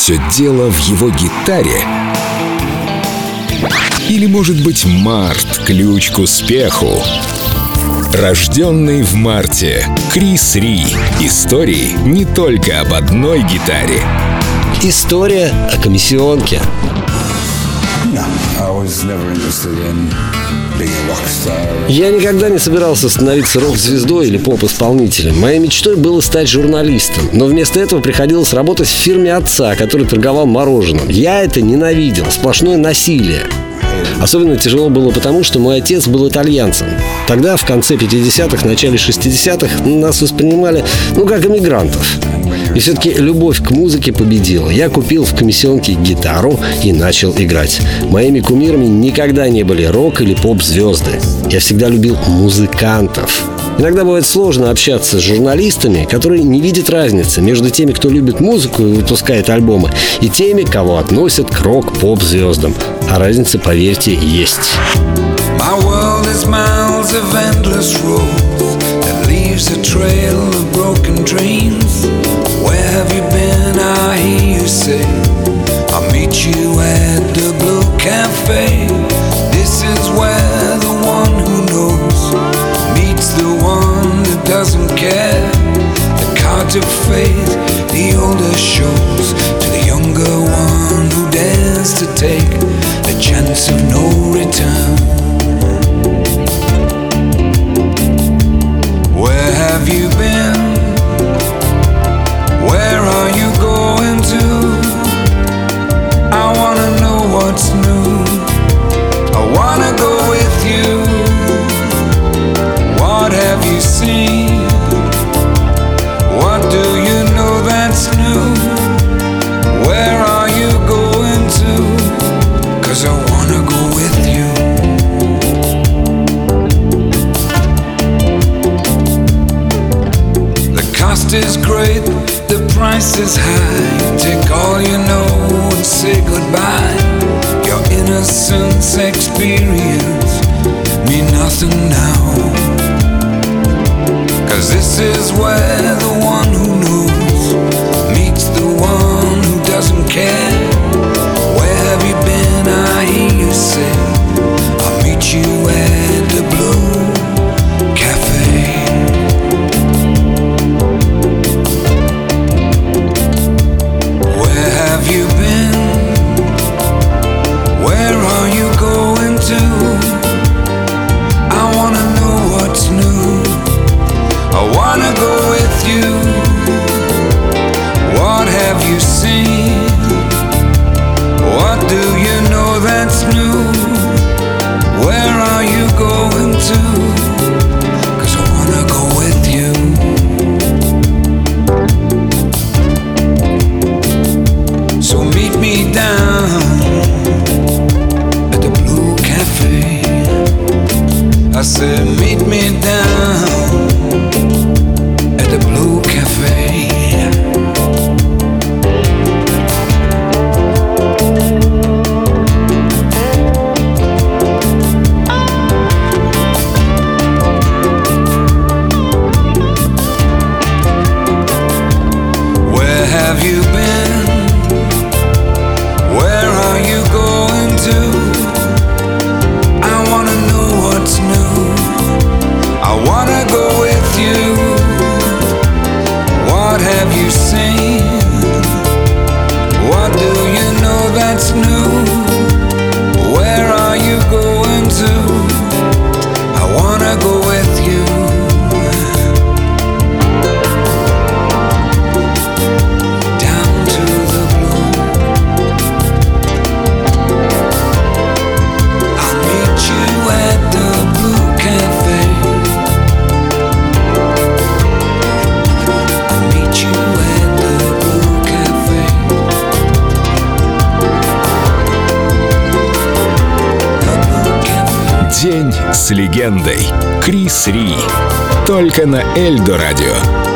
все дело в его гитаре? Или, может быть, март — ключ к успеху? Рожденный в марте. Крис Ри. Истории не только об одной гитаре. История о комиссионке. Я никогда не собирался становиться рок-звездой или поп-исполнителем. Моей мечтой было стать журналистом. Но вместо этого приходилось работать в фирме отца, который торговал мороженым. Я это ненавидел. Сплошное насилие. Особенно тяжело было потому, что мой отец был итальянцем. Тогда, в конце 50-х, начале 60-х, нас воспринимали, как иммигрантов. И все-таки любовь к музыке победила. Я купил в комиссионке гитару и начал играть. Моими кумирами никогда не были рок- или поп-звезды. Я всегда любил музыкантов. Иногда бывает сложно общаться с журналистами, которые не видят разницы между теми, кто любит музыку и выпускает альбомы, и теми, кого относят к рок-поп-звездам. А разница, поверьте, есть. Doesn't care. The cards of fate, the older shows to the younger one who dares to take the chance of no return. Where have you been? Where are you going to? I wanna know what's new. I wanna go with you. What have you seen? What do you know that's new? Where are you going to? 'Cause I wanna go with you. The cost is great, the price is high. Take all you know and say goodbye. Your innocence experience mean nothing now. 'Cause this is where the one who knows meets the one who doesn't care. Where have you been? I hear you say, I'll meet you at the Blue Cafe. Where have you been? Where are you going to? I wanna know what's new. I wanna go with you. What have you seen? What do you know that's new? Where are you going to? 'Cause I wanna go with you. So meet me down at the Blue Cafe. I said meet me down at the Blue Cafe. Where have you been? Where are you going to? I wanna know what's new. I wanna go with you. What have you seen? What do you know that's new? Where are you going to? I wanna go with you. Down to the blue. I'll meet you at the Blue Cafe. I'll meet you at the Blue Cafe. The Blue Cafe. День с легендой. Крис Ри. Только на Эльдо радио.